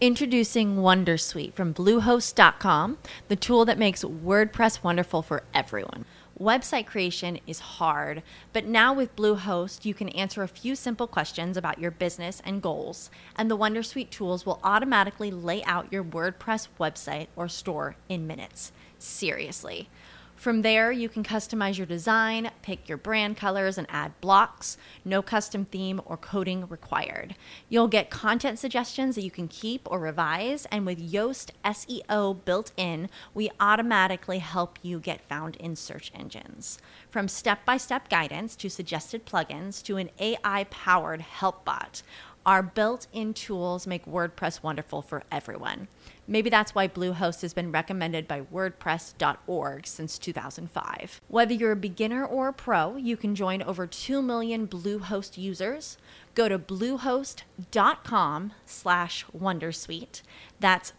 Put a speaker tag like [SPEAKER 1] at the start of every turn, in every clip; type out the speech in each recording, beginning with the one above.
[SPEAKER 1] Introducing Wondersuite from Bluehost.com, the tool that makes WordPress wonderful for everyone. Website creation is hard, but now with Bluehost, you can answer a few simple questions about your business and goals, and the Wondersuite tools will automatically lay out your WordPress website or store in minutes. Seriously. From there, you can customize your design, pick your brand colors, and add blocks. No custom theme or coding required. You'll get content suggestions that you can keep or revise, and with Yoast SEO built in, we automatically help you get found in search engines. From step-by-step guidance to suggested plugins to an AI-powered help bot, our built-in tools make WordPress wonderful for everyone. Maybe that's why Bluehost has been recommended by WordPress.org since 2005. Whether you're a beginner or a pro, you can join over 2 million Bluehost users. Go to bluehost.com/wondersuite. That's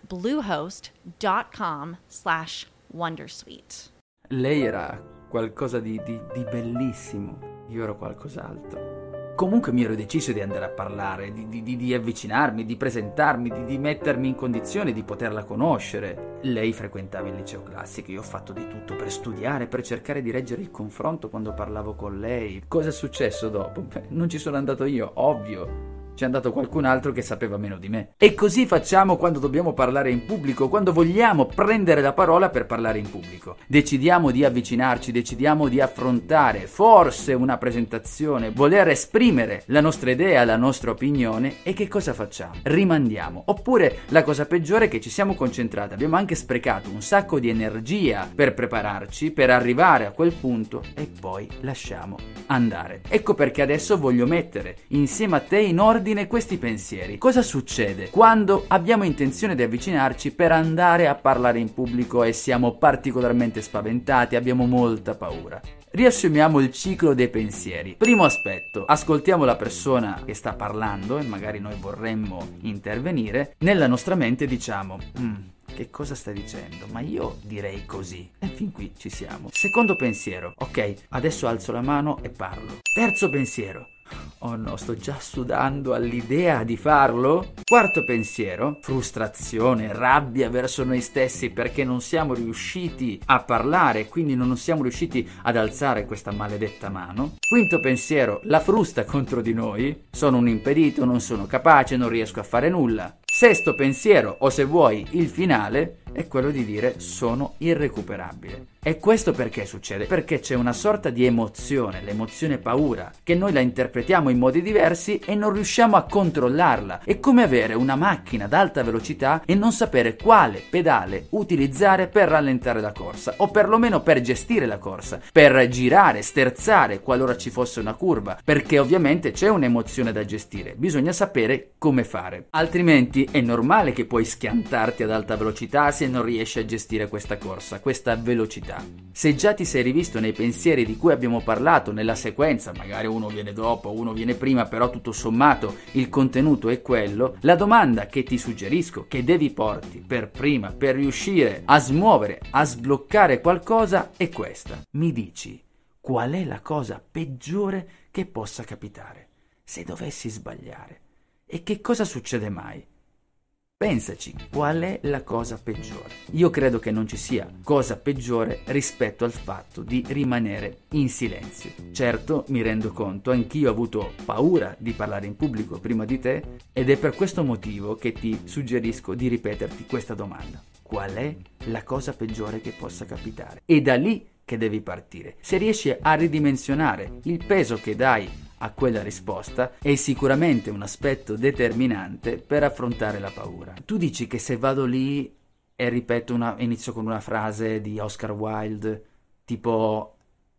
[SPEAKER 1] bluehost.com/wondersuite.
[SPEAKER 2] Lei era qualcosa di bellissimo, io ero qualcos'altro. Comunque mi ero deciso di andare a parlare, di avvicinarmi, di presentarmi, di mettermi in condizione di poterla conoscere. Lei frequentava il liceo classico, io ho fatto di tutto per studiare, per cercare di reggere il confronto quando parlavo con lei. Cosa è successo dopo? Beh, non ci sono andato io, ovvio. C'è andato qualcun altro che sapeva meno di me. E così facciamo quando dobbiamo parlare in pubblico, quando vogliamo prendere la parola per parlare in pubblico. Decidiamo di avvicinarci, decidiamo di affrontare forse una presentazione, voler esprimere la nostra idea, la nostra opinione, e che cosa facciamo? Rimandiamo. Oppure la cosa peggiore è che ci siamo concentrati, abbiamo anche sprecato un sacco di energia per prepararci, per arrivare a quel punto, e poi lasciamo andare. Ecco perché adesso voglio mettere insieme a te in ordine questi pensieri. Cosa succede quando abbiamo intenzione di avvicinarci per andare a parlare in pubblico e siamo particolarmente spaventati, abbiamo molta paura? Riassumiamo il ciclo dei pensieri. Primo aspetto, ascoltiamo la persona che sta parlando e magari noi vorremmo intervenire. Nella nostra mente diciamo: che cosa stai dicendo? Ma io direi così. E fin qui ci siamo. Secondo pensiero, ok, adesso alzo la mano e parlo. Terzo pensiero, oh no, sto già sudando all'idea di farlo. Quarto pensiero, frustrazione, rabbia verso noi stessi perché non siamo riusciti a parlare, quindi non siamo riusciti ad alzare questa maledetta mano. Quinto pensiero, la frusta contro di noi, sono un impedito, non sono capace, non riesco a fare nulla. Sesto pensiero, o se vuoi il finale, è quello di dire sono irrecuperabile. E questo perché succede? Perché c'è una sorta di emozione, l'emozione paura, che noi la interpretiamo in modi diversi e non riusciamo a controllarla. È come avere una macchina ad alta velocità e non sapere quale pedale utilizzare per rallentare la corsa, o perlomeno per gestire la corsa, per girare, sterzare qualora ci fosse una curva, perché ovviamente c'è un'emozione da gestire, bisogna sapere come fare. Altrimenti è normale che puoi schiantarti ad alta velocità se non riesci a gestire questa corsa, questa velocità. Se già ti sei rivisto nei pensieri di cui abbiamo parlato nella sequenza, magari uno viene dopo, uno viene prima, però tutto sommato il contenuto è quello, la domanda che ti suggerisco, che devi porti per prima, per riuscire a smuovere, a sbloccare qualcosa, è questa. Mi dici qual è la cosa peggiore che possa capitare se dovessi sbagliare? E che cosa succede mai? Pensaci, qual è la cosa peggiore? Io credo che non ci sia cosa peggiore rispetto al fatto di rimanere in silenzio. Certo, mi rendo conto, anch'io ho avuto paura di parlare in pubblico prima di te, ed è per questo motivo che ti suggerisco di ripeterti questa domanda. Qual è la cosa peggiore che possa capitare? E da lì che devi partire. Se riesci a ridimensionare il peso che dai a quella risposta, è sicuramente un aspetto determinante per affrontare la paura. Tu dici che se vado lì e ripeto inizio con una frase di Oscar Wilde, tipo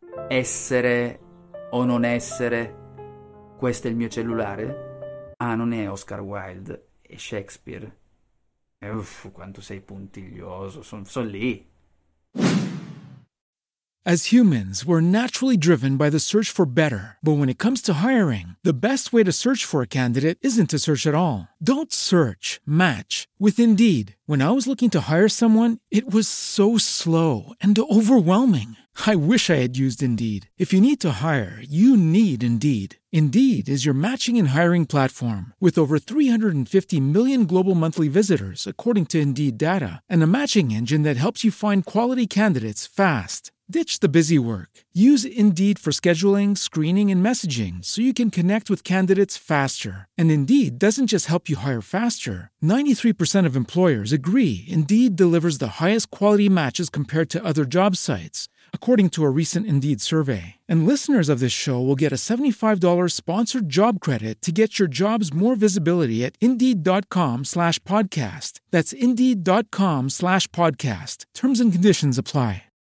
[SPEAKER 2] essere o non essere, questo è il mio cellulare? Ah, non è Oscar Wilde, è Shakespeare. Uff, quanto sei puntiglioso, son lì.
[SPEAKER 3] As humans, we're naturally driven by the search for better. But when it comes to hiring, the best way to search for a candidate isn't to search at all. Don't search, match with Indeed. When I was looking to hire someone, it was so slow and overwhelming. I wish I had used Indeed. If you need to hire, you need Indeed. Indeed is your matching and hiring platform with over 350 million global monthly visitors, according to Indeed data, and a matching engine that helps you find quality candidates fast. Ditch the busy work. Use Indeed for scheduling, screening, and messaging so you can connect with candidates faster. And Indeed doesn't just help you hire faster. 93% of employers agree Indeed delivers the highest quality matches compared to other job sites, according to a recent Indeed survey. And listeners of this show will get a $75 sponsored job credit to get your jobs more visibility at Indeed.com/podcast. That's Indeed.com/podcast. Terms and conditions apply.